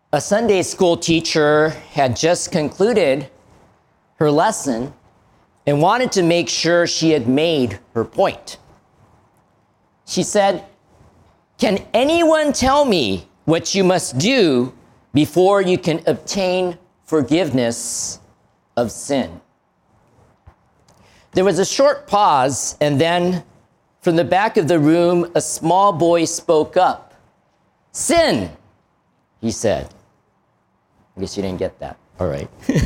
A Sunday school teacher had just concluded her lesson and wanted to make sure she had made her point. She said, "Can anyone tell me what you must do before you can obtain forgiveness of sin?" There was a short pause, and then from the back of the room, a small boy spoke up. "Sin," he said. I guess you didn't get that. All right.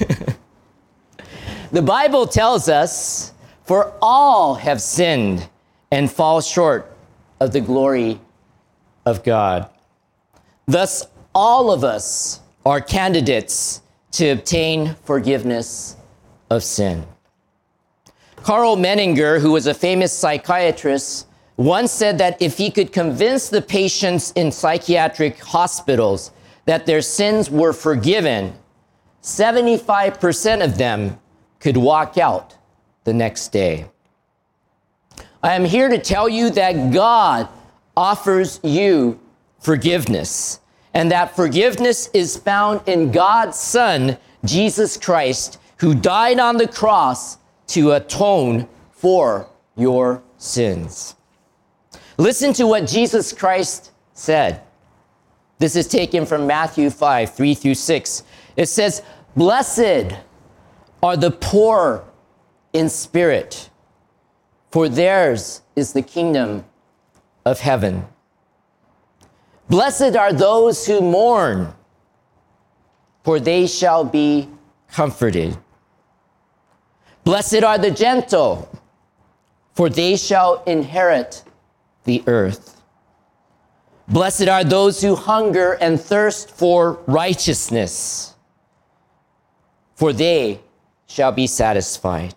The Bible tells us, "For all have sinned and fall short of the glory of God." Thus, all of us are candidates to obtain forgiveness of sin. Karl Menninger, who was a famous psychiatrist, once said that if he could convince the patients in psychiatric hospitals that their sins were forgiven, 75% of them could walk out the next day. I am here to tell you that God offers you forgiveness, and that forgiveness is found in God's Son, Jesus Christ, who died on the cross to atone for your sins. Listen to what Jesus Christ said. This is taken from Matthew 5, 3 through 6. It says, "Blessed are the poor in spirit, for theirs is the kingdom of heaven. Blessed are those who mourn, for they shall be comforted. Blessed are the gentle, for they shall inherit the earth. Blessed are those who hunger and thirst for righteousness, for they shall be satisfied."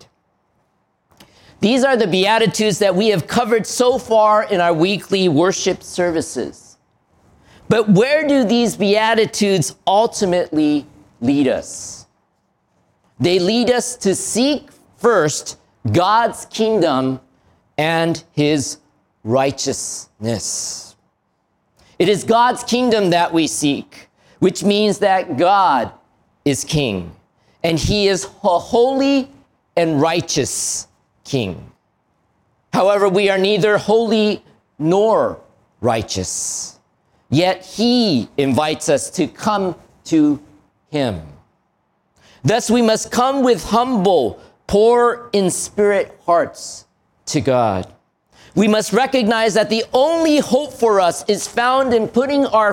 These are the Beatitudes that we have covered so far in our weekly worship services. But where do these Beatitudes ultimately lead us? They lead us to seek first God's kingdom and his righteousness. It is God's kingdom that we seek, which means that God is king, and he is a holy and righteous king. However, we are neither holy nor righteous, yet he invites us to come to him. Thus, we must come with humble, poor in spirit hearts to God. We must recognize that the only hope for us is found in putting our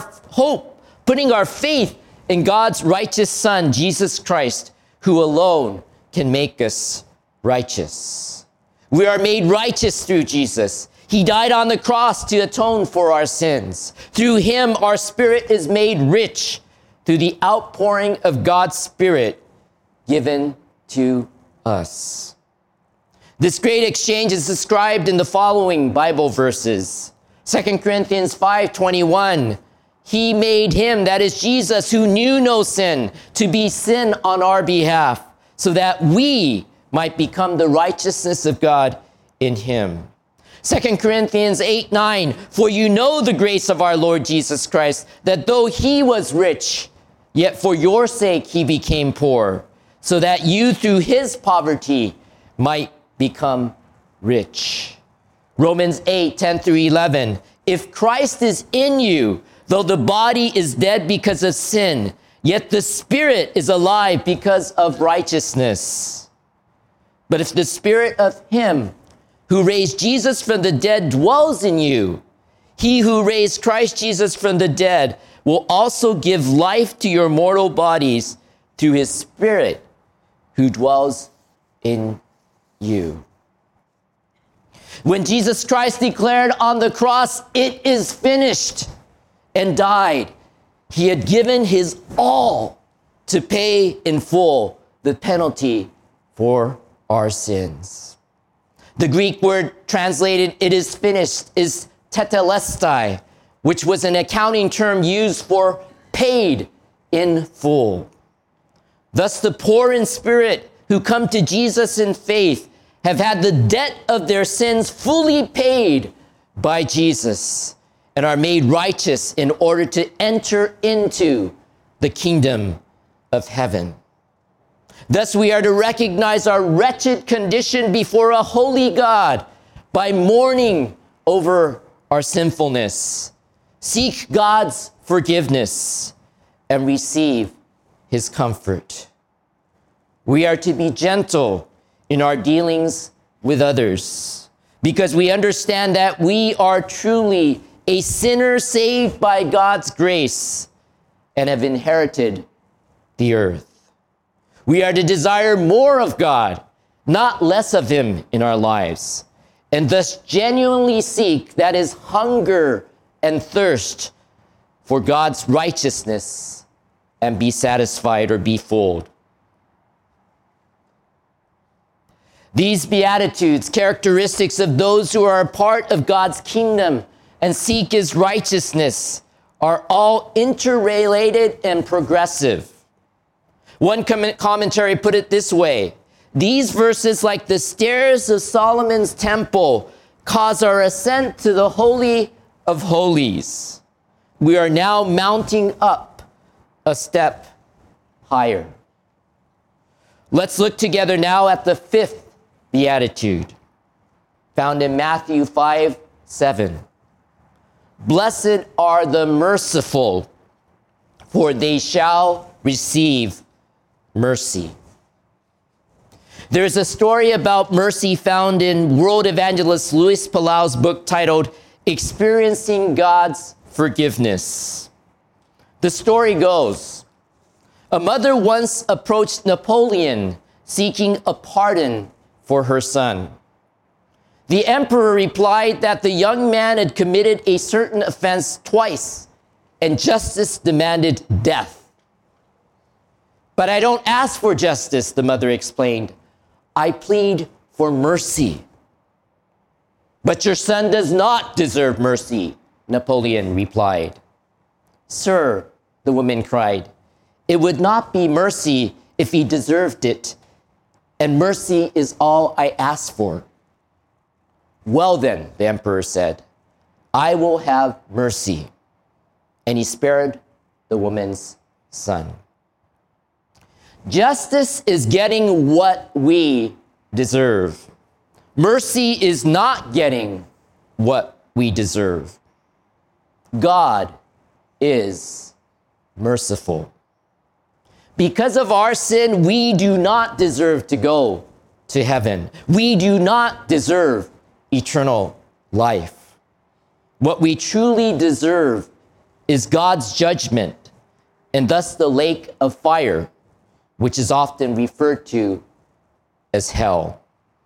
faith in God's righteous Son, Jesus Christ, who alone can make us righteous. We are made righteous through Jesus. He died on the cross to atone for our sins. Through him, our spirit is made rich through the outpouring of God's Spirit given to us. This great exchange is described in the following Bible verses. 2 Corinthians 5:21. He made him, that is Jesus, who knew no sin, to be sin on our behalf, so that we might become the righteousness of God in him. 2 Corinthians 8:9. For you know the grace of our Lord Jesus Christ, that though he was rich, yet for your sake he became poor, so that you through his poverty might become rich. Romans 8:10 through 11. If Christ is in you, though the body is dead because of sin, yet the spirit is alive because of righteousness. But if the spirit of him who raised Jesus from the dead dwells in you, he who raised Christ Jesus from the dead will also give life to your mortal bodies through his Spirit who dwells in you. When Jesus Christ declared on the cross, "It is finished," and died, he had given his all to pay in full the penalty for our sins. The Greek word translated "it is finished" is tetelestai, which was an accounting term used for paid in full. Thus, the poor in spirit who come to Jesus in faith have had the debt of their sins fully paid by Jesus and are made righteous in order to enter into the kingdom of heaven. Thus, we are to recognize our wretched condition before a holy God by mourning over our sinfulness, seek God's forgiveness, and receive his comfort. We are to be gentle in our dealings with others because we understand that we are truly a sinner saved by God's grace and have inherited the earth. We are to desire more of God, not less of him in our lives, and thus genuinely seek, that is, hunger and thirst for God's righteousness and be satisfied or be filled. These Beatitudes, characteristics of those who are a part of God's kingdom and seek his righteousness, are all interrelated and progressive. One commentary put it this way: these verses, like the stairs of Solomon's temple, cause our ascent to the Holy of Holies. We are now mounting up a step higher. Let's look together now at the fifth Beatitude, found in Matthew 5:7. Blessed are the merciful, for they shall receive mercy. There's a story about mercy found in world evangelist Luis Palau's book titled Experiencing God's Forgiveness. The story goes, a mother once approached Napoleon seeking a pardon for her son. The emperor replied that the young man had committed a certain offense twice, and justice demanded death. But I don't ask for justice, the mother explained. I plead for mercy. But your son does not deserve mercy, Napoleon replied. Sir, the woman cried, it would not be mercy if he deserved it, and mercy is all I ask for. Well then, the emperor said, I will have mercy. And he spared the woman's son. Justice is getting what we deserve. Mercy is not getting what we deserve. God is merciful. Because of our sin, we do not deserve to go to heaven. We do not deserve eternal life. What we truly deserve is God's judgment, and thus the lake of fire, which is often referred to as hell.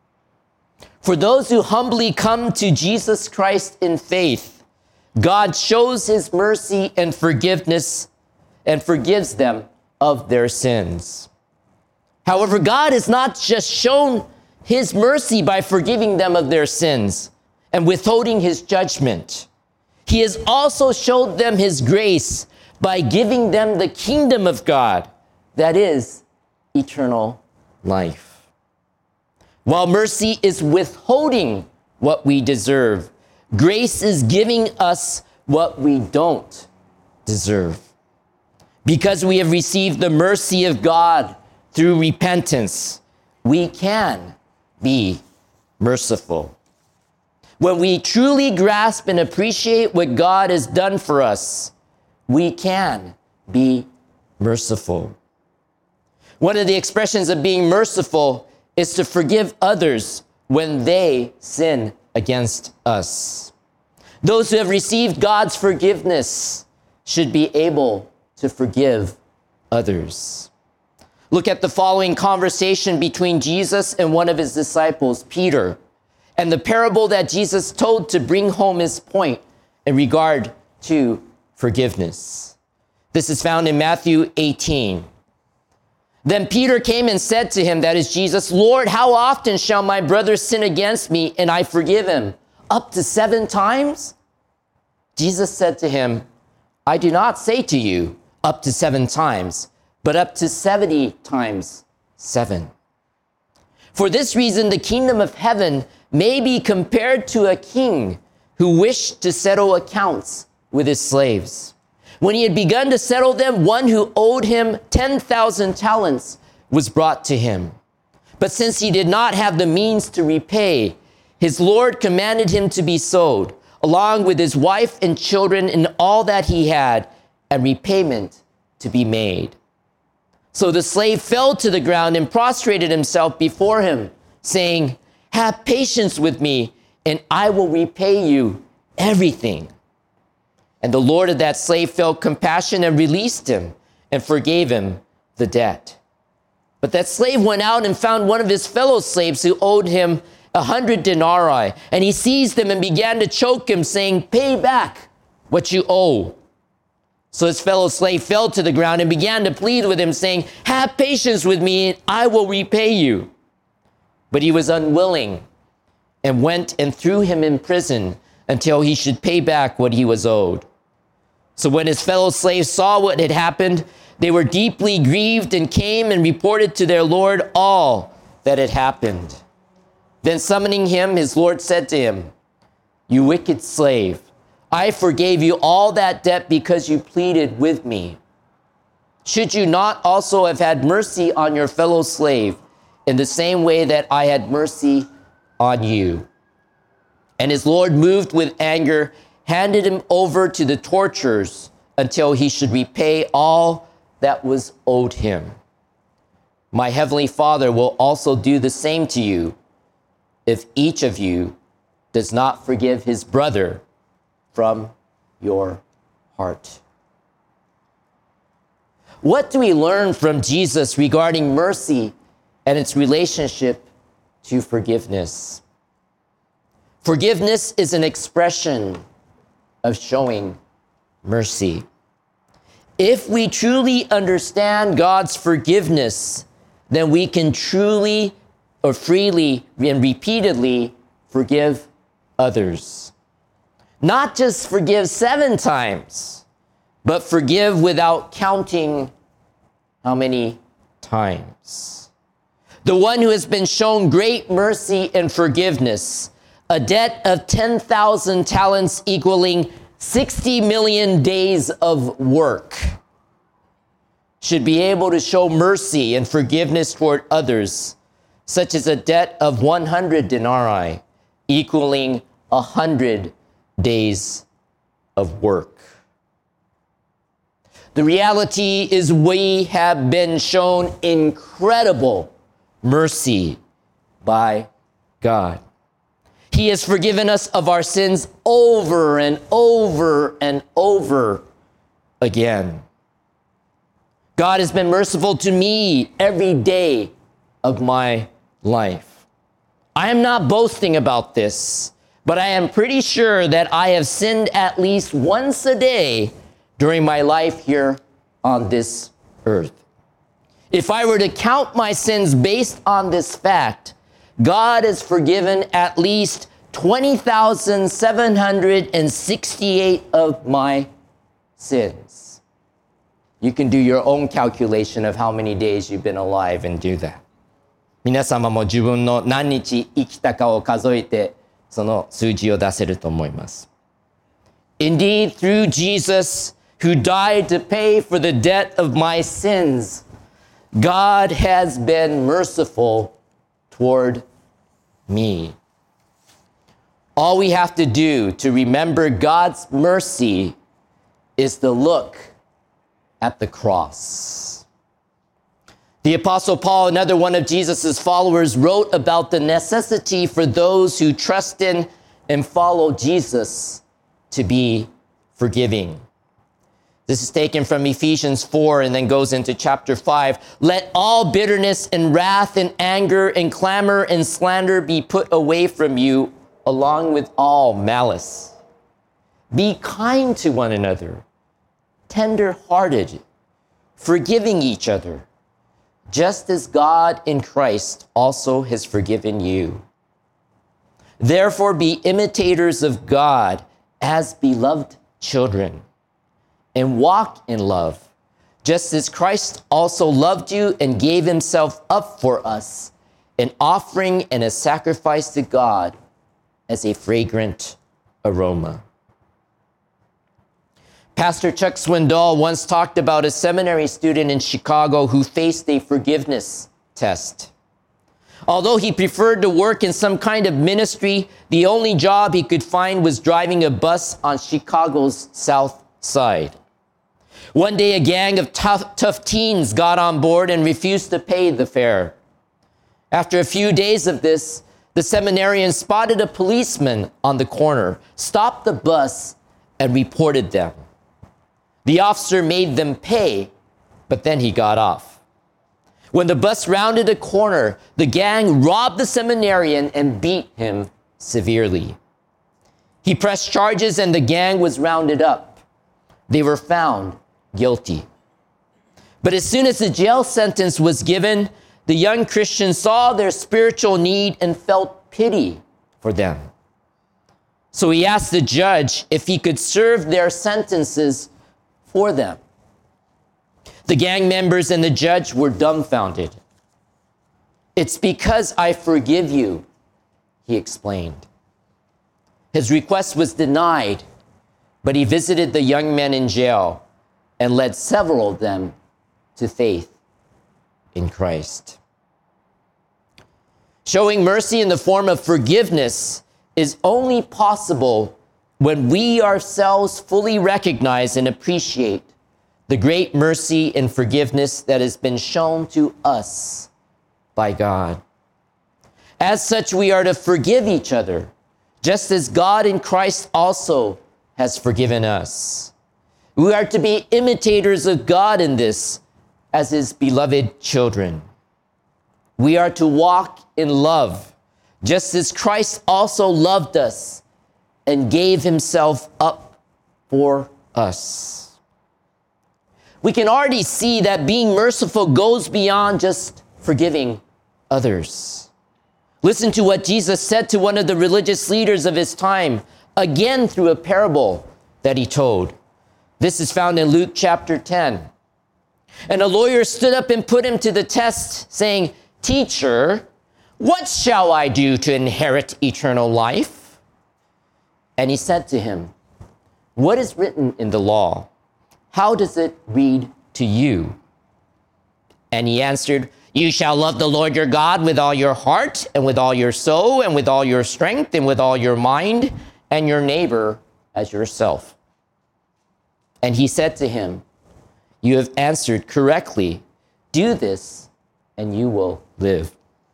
For those who humbly come to Jesus Christ in faith, God shows his mercy and forgiveness and forgives them of their sins. However, God has not just shown his mercy by forgiving them of their sins and withholding his judgment. He has also showed them his grace by giving them the kingdom of God, that is, eternal life. While mercy is withholding what we deserve, grace is giving us what we don't deserve. Because we have received the mercy of God through repentance, we can be merciful. When we truly grasp and appreciate what God has done for us, we can be merciful. One of the expressions of being merciful is to forgive others when they sin against us. Those who have received God's forgiveness should be able to forgive others. Look at the following conversation between Jesus and one of his disciples, Peter, and the parable that Jesus told to bring home his point in regard to forgiveness. This is found in Matthew 18. Then Peter came and said to him, that is Jesus, Lord, how often shall my brother sin against me and I forgive him? Up to 7 times? Jesus said to him, I do not say to you up to 7 times, but up to 70 times 7. For this reason, the kingdom of heaven may be compared to a king who wished to settle accounts with his slaves. When he had begun to settle them, one who owed him 10,000 talents was brought to him. But since he did not have the means to repay, his Lord commanded him to be sold, along with his wife and children and all that he had, and repayment to be made. So the slave fell to the ground and prostrated himself before him, saying, "Have patience with me, and I will repay you everything." And the Lord of that slave felt compassion and released him and forgave him the debt. But that slave went out and found one of his fellow slaves who owed him 100 denarii. And he seized him and began to choke him, saying, "Pay back what you owe." So his fellow slave fell to the ground and began to plead with him, saying, "Have patience with me, and I will repay you." But he was unwilling and went and threw him in prison until he should pay back what he was owed. So when his fellow slaves saw what had happened, they were deeply grieved and came and reported to their Lord all that had happened. Then summoning him, his Lord said to him, "You wicked slave, I forgave you all that debt because you pleaded with me. Should you not also have had mercy on your fellow slave in the same way that I had mercy on you?" And his Lord, moved with anger, handed him over to the torturers until he should repay all that was owed him. My heavenly Father will also do the same to you if each of you does not forgive his brother from your heart. What do we learn from Jesus regarding mercy and its relationship to forgiveness? Forgiveness is an expression of showing mercy. If we truly understand God's forgiveness, then we can truly or freely and repeatedly forgive others. Not just forgive 7 times, but forgive without counting how many times. The one who has been shown great mercy and forgiveness, a debt of 10,000 talents equaling 60 million days of work, should be able to show mercy and forgiveness toward others, such as a debt of 100 denarii, equaling 100 days of work. The reality is we have been shown incredible mercy by God. He has forgiven us of our sins over and over and over again. God has been merciful to me every day of my life. I am not boasting about this, but I am pretty sure that I have sinned at least once a day during my life here on this earth. If I were to count my sins based on this fact, God has forgiven at least 20,768 of my sins. You can do your own calculation of how many days you've been alive and do that. 皆様も自分の何日生きたかを数えて、その数字を出せると思います。Indeed, through Jesus, who died to pay for the debt of my sins, God has been merciful toward me. All we have to do to remember God's mercy is to look at the cross. The Apostle Paul, another one of Jesus' followers, wrote about the necessity for those who trust in and follow Jesus to be forgiving. This is taken from Ephesians 4 and then goes into chapter 5. Let all bitterness and wrath and anger and clamor and slander be put away from you, along with all malice. Be kind to one another, tender-hearted, forgiving each other, just as God in Christ also has forgiven you. Therefore, be imitators of God as beloved children, and walk in love, just as Christ also loved you and gave himself up for us, an offering and a sacrifice to God as a fragrant aroma. Pastor Chuck Swindoll once talked about a seminary student in Chicago who faced a forgiveness test. Although he preferred to work in some kind of ministry, the only job he could find was driving a bus on Chicago's South Side. One day, a gang of tough teens got on board and refused to pay the fare. After a few days of this, the seminarian spotted a policeman on the corner, stopped the bus, and reported them. The officer made them pay, but then he got off. When the bus rounded a corner, the gang robbed the seminarian and beat him severely. He pressed charges and the gang was rounded up. They were found guilty. But as soon as the jail sentence was given, the young Christian saw their spiritual need and felt pity for them. So he asked the judge if he could serve their sentences for them. The gang members and the judge were dumbfounded. "It's because I forgive you," he explained. His request was denied, but he visited the young men in jail and led several of them to faith in Christ. Showing mercy in the form of forgiveness is only possible when we ourselves fully recognize and appreciate the great mercy and forgiveness that has been shown to us by God. As such, we are to forgive each other, just as God in Christ also has forgiven us. We are to be imitators of God in this, as his beloved children. We are to walk in love, just as Christ also loved us and gave himself up for us. We can already see that being merciful goes beyond just forgiving others. Listen to what Jesus said to one of the religious leaders of his time, again through a parable that he told. This is found in Luke chapter 10. And a lawyer stood up and put him to the test, saying, "Teacher, what shall I do to inherit eternal life?" And he said to him, "What is written in the law? How does it read to you?" And he answered, "You shall love the Lord your God with all your heart and with all your soul and with all your strength and with all your mind, and your neighbor as yourself." And he said to him, "You have answered correctly. Do this and you will live."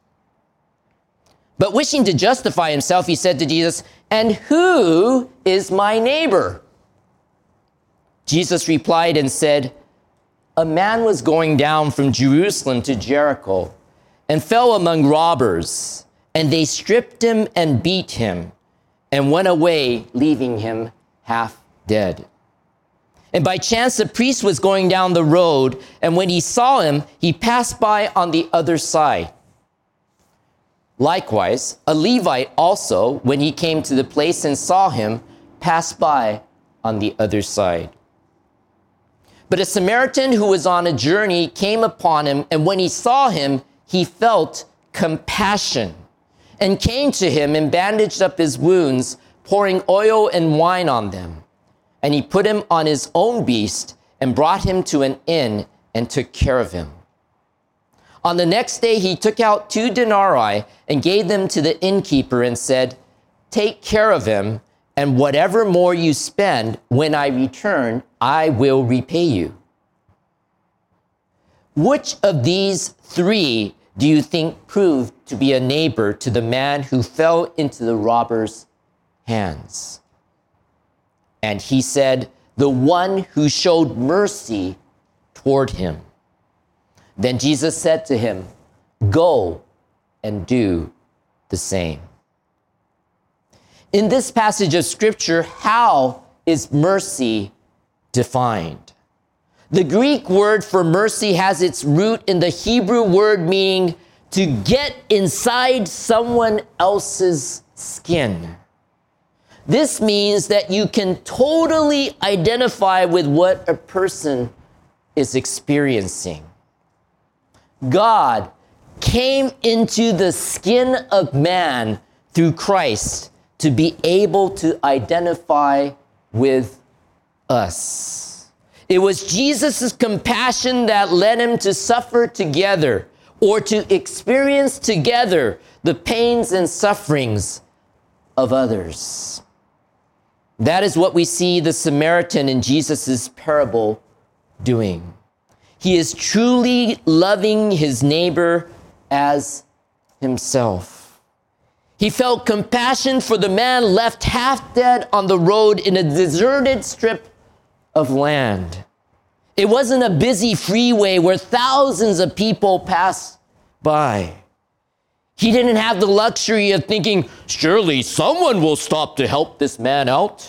But wishing to justify himself, he said to Jesus, "And who is my neighbor?" Jesus replied and said, "A man was going down from Jerusalem to Jericho and fell among robbers, and they stripped him and beat him and went away, leaving him half dead. And by chance a priest was going down the road, and when he saw him, he passed by on the other side. Likewise, a Levite also, when he came to the place and saw him, passed by on the other side. But a Samaritan who was on a journey came upon him, and when he saw him, he felt compassion and came to him and bandaged up his wounds, pouring oil and wine on them. And he put him on his own beast and brought him to an inn and took care of him. On the next day, he took out 2 denarii and gave them to the innkeeper and said, "Take care of him, and whatever more you spend, when I return, I will repay you." Which of these 3 do you think proved to be a neighbor to the man who fell into the robber's hands? And he said, "The one who showed mercy toward him." Then Jesus said to him, "Go and do the same." In this passage of scripture, how is mercy defined? The Greek word for mercy has its root in the Hebrew word meaning to get inside someone else's skin. This means that you can totally identify with what a person is experiencing. God came into the skin of man through Christ to be able to identify with us. It was Jesus' compassion that led him to suffer together, or to experience together the pains and sufferings of others. That is what we see the Samaritan in Jesus' parable doing. He is truly loving his neighbor as himself. He felt compassion for the man left half dead on the road in a deserted strip of land. It wasn't a busy freeway where thousands of people passed by. He didn't have the luxury of thinking, surely someone will stop to help this man out.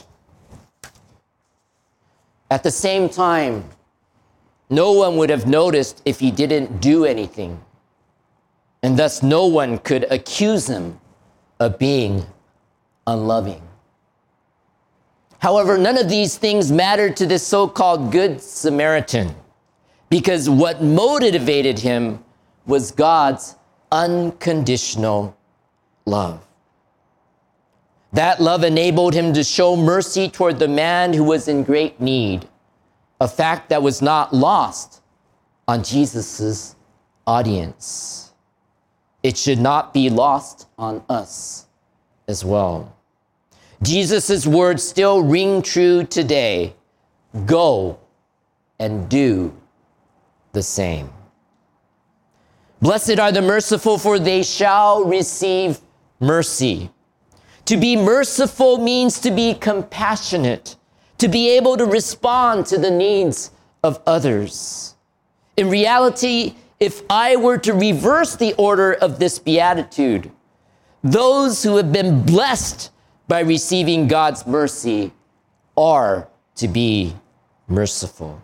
At the same time, no one would have noticed if he didn't do anything, and thus no one could accuse him of being unloving. However, none of these things mattered to this so-called Good Samaritan, because what motivated him was God's unconditional love. That love enabled him to show mercy toward the man who was in great need, a fact that was not lost on Jesus' audience. It should not be lost on us as well. Jesus' words still ring true today. Go and do the same. Blessed are the merciful, for they shall receive mercy. To be merciful means to be compassionate, to be able to respond to the needs of others. In reality, if I were to reverse the order of this beatitude, those who have been blessed by receiving God's mercy are to be merciful.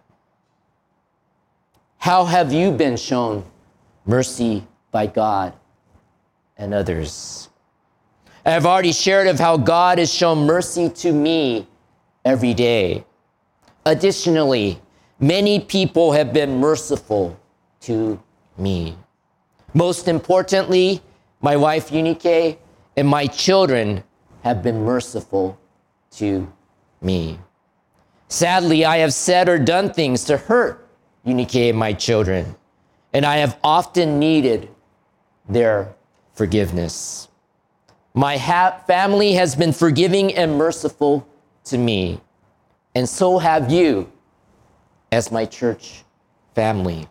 How have you been shown mercy by God and others? I have already shared of how God has shown mercy to me every day. Additionally, many people have been merciful to me. Most importantly, my wife Eunike and my children have been merciful to me. Sadly, I have said or done things to hurt Eunike and my children, and I have often needed their forgiveness. My family has been forgiving and merciful to me, and so have you as my church family.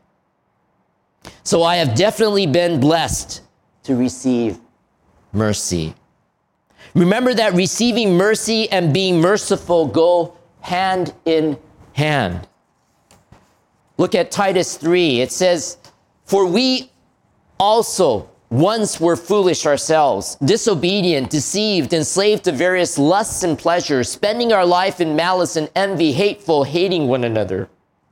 So I have definitely been blessed to receive mercy. Remember that receiving mercy and being merciful go hand in hand. Look at Titus 3. It says, "For we also once were foolish ourselves, disobedient, deceived, enslaved to various lusts and pleasures, spending our life in malice and envy, hateful, hating one another.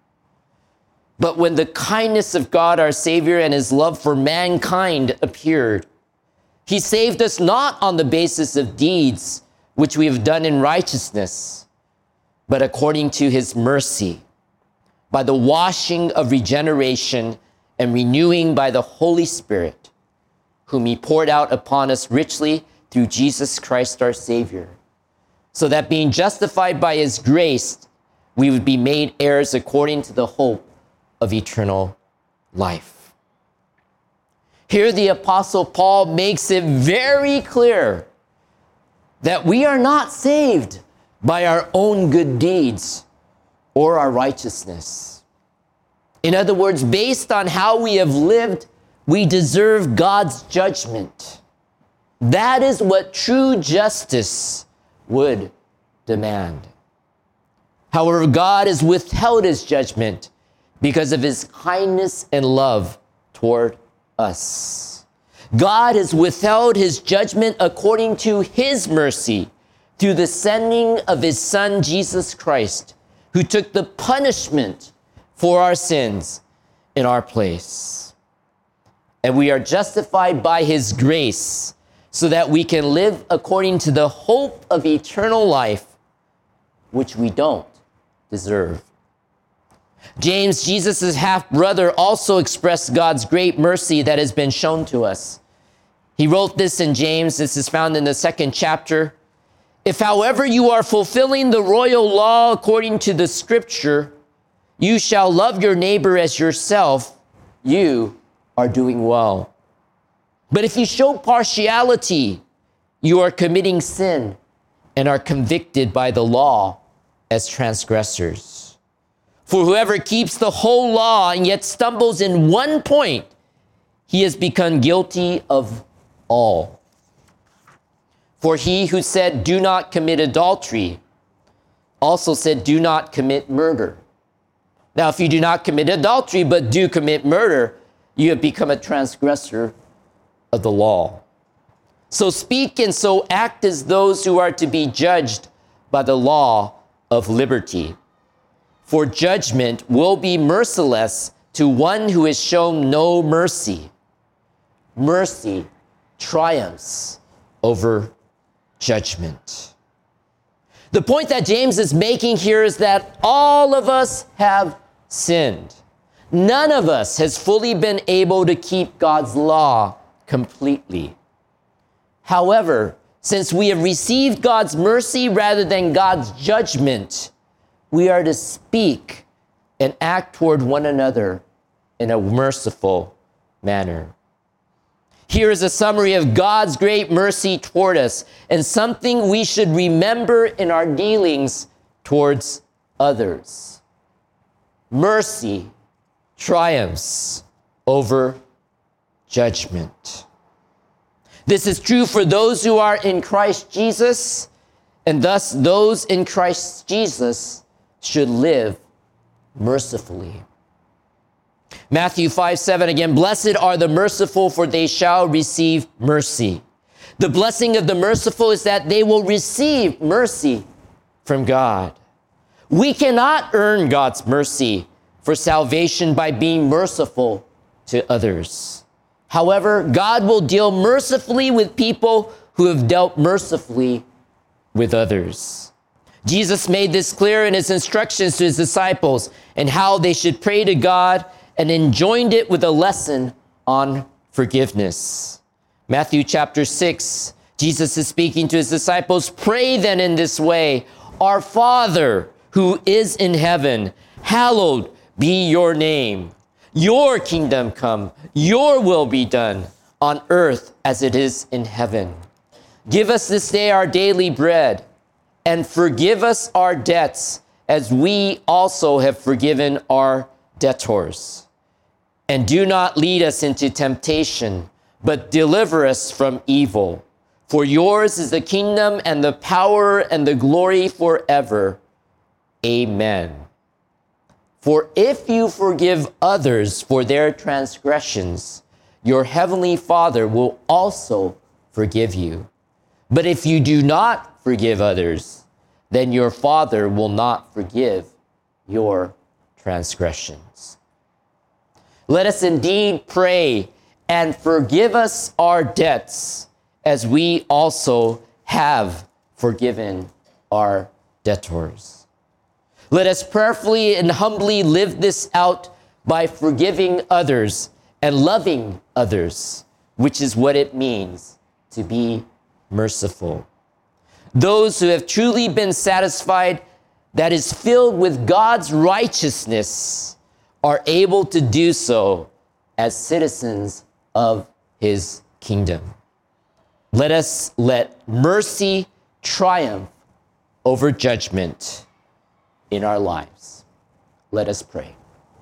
But when the kindness of God our Savior and his love for mankind appeared, he saved us not on the basis of deeds which we have done in righteousness, but according to his mercy, by the washing of regeneration and renewing by the Holy Spirit, whom he poured out upon us richly through Jesus Christ our Savior, so that being justified by his grace, we would be made heirs according to the hope of eternal life." Here the Apostle Paul makes it very clear that we are not saved by our own good deeds or our righteousness. In other words, based on how we have lived, we deserve God's judgment. That is what true justice would demand. However, God has withheld his judgment because of his kindness and love toward us. God has withheld his judgment according to his mercy through the sending of his Son, Jesus Christ, who took the punishment for our sins in our place. And we are justified by his grace so that we can live according to the hope of eternal life, which we don't deserve. James, Jesus' half-brother, also expressed God's great mercy that has been shown to us. He wrote this in James. This is found in the 2nd chapter. If, however, you are fulfilling the royal law according to the scripture, you shall love your neighbor as yourself, you are doing well. But if you show partiality, you are committing sin and are convicted by the law as transgressors. For whoever keeps the whole law and yet stumbles in one point, he has become guilty of all. For he who said, do not commit adultery, also said, do not commit murder. Now, if you do not commit adultery, but do commit murder, you have become a transgressor of the law. So speak and so act as those who are to be judged by the law of liberty. For judgment will be merciless to one who has shown no mercy. Mercy triumphs over judgment. The point that James is making here is that all of us have sinned. None of us has fully been able to keep God's law completely. However, since we have received God's mercy rather than God's judgment, we are to speak and act toward one another in a merciful manner. Here is a summary of God's great mercy toward us and something we should remember in our dealings towards others. Mercy triumphs over judgment. This is true for those who are in Christ Jesus, and thus those in Christ Jesus should live mercifully. Matthew 5:7 again, blessed are the merciful, for they shall receive mercy. The blessing of the merciful is that they will receive mercy from God. We cannot earn God's mercy for salvation by being merciful to others. However, God will deal mercifully with people who have dealt mercifully with others. Jesus made this clear in his instructions to his disciples and how they should pray to God, and enjoined it with a lesson on forgiveness. Matthew chapter 6, Jesus is speaking to his disciples, pray then in this way, our Father who is in heaven, hallowed be your name. Your kingdom come, your will be done on earth as it is in heaven. Give us this day our daily bread, and forgive us our debts as we also have forgiven our debtors. And do not lead us into temptation, but deliver us from evil. For yours is the kingdom and the power and the glory forever. Amen. For if you forgive others for their transgressions, your heavenly Father will also forgive you. But if you do not forgive others, then your Father will not forgive your transgressions. Let us indeed pray and forgive us our debts as we also have forgiven our debtors. Let us prayerfully and humbly live this out by forgiving others and loving others, which is what it means to be merciful. Those who have truly been satisfied, that is filled with God's righteousness, are able to do so as citizens of his kingdom. Let us let mercy triumph over judgment in our lives. Let us pray.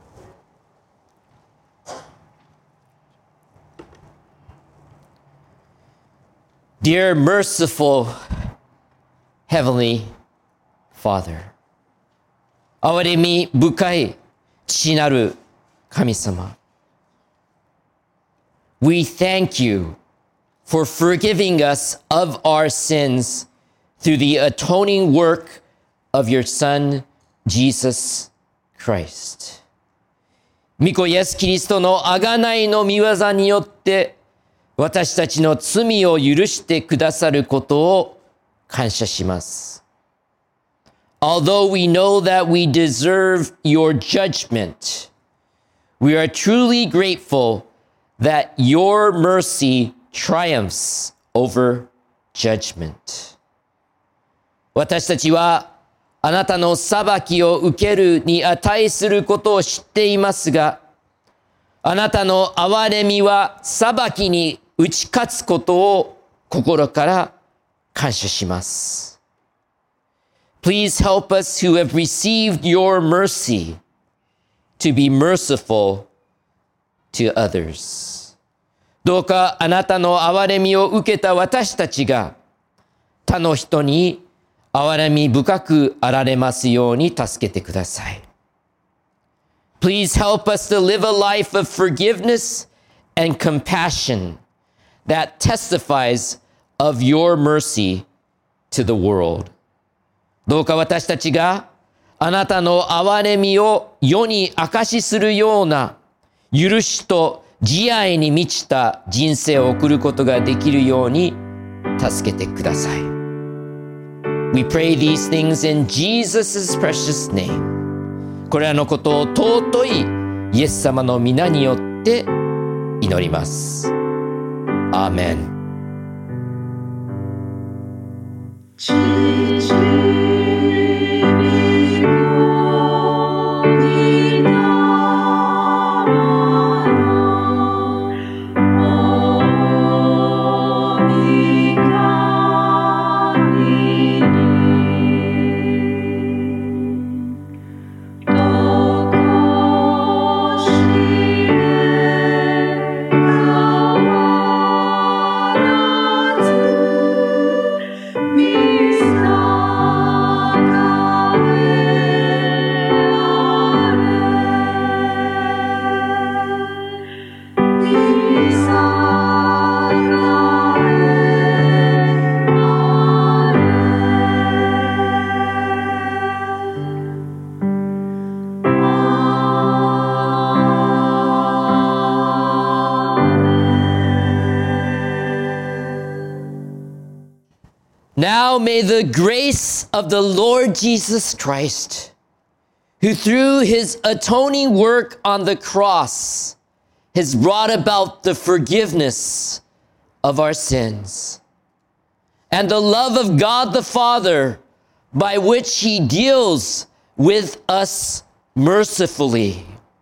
Dear merciful Heavenly Father, 憐れみ深い父なる神様、We thank you for forgiving us of our sins through the atoning work of your Son, Jesus Christ. 御子イエス・キリストの贖いの御業によって私たちの罪を許してくださることを感謝します。Although we know that we deserve your judgment, we are truly grateful that your mercy triumphs over judgment. 私たちはあなたの裁きを受けるに値することを知っていますが、あなたの憐れみは裁きに打ち勝つことを心から感謝します。Please help us who have received your mercy to be merciful to others. どうかあなたの憐れみを受けた私たちが他の人に憐れみ深くあられますように助けてください。Please help us to live a life of forgiveness and compassion that testifies of your mercy to the world. どうか私たちがあなたの憐れみを世に証しするような許しと慈愛に満ちた人生を送ることができるように助けてください。We pray these things in Jesus' precious name. これらのことを尊いイエス様の皆によって祈ります。アーメン。Now may the grace of the Lord Jesus Christ, who through his atoning work on the cross has brought about the forgiveness of our sins, and the love of God the Father, by which he deals with us mercifully,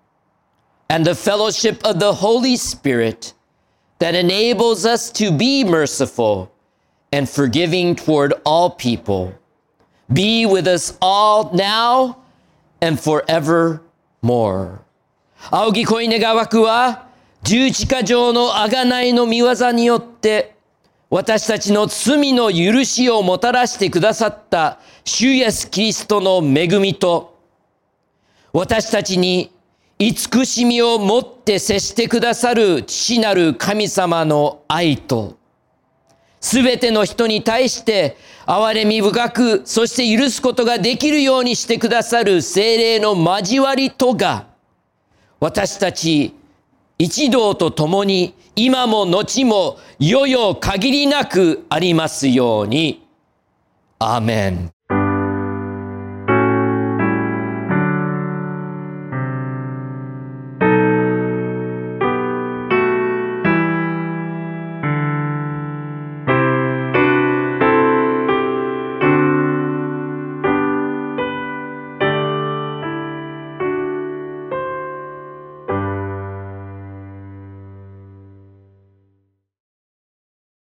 and the fellowship of the Holy Spirit that enables us to be merciful and forgiving toward all people, be with us all now and forevermore. 仰ぎ恋願わくは十字架上の贖いの御業によって私たちの罪の許しをもたらしてくださった主イエスキリストの恵みと、私たちに慈しみを持って接してくださる父なる神様の愛と、すべての人に対して憐れみ深く、そして許すことができるようにしてくださる聖霊の交わりとが、私たち一同と共に今も後も世々限りなくありますように。アーメン。